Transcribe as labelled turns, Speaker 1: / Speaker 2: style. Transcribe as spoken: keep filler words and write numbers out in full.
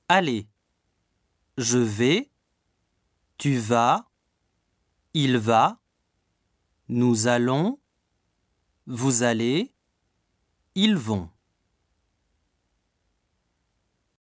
Speaker 1: aller. Je vais, tu vas, il va, nous allons, vous allez, ils vont.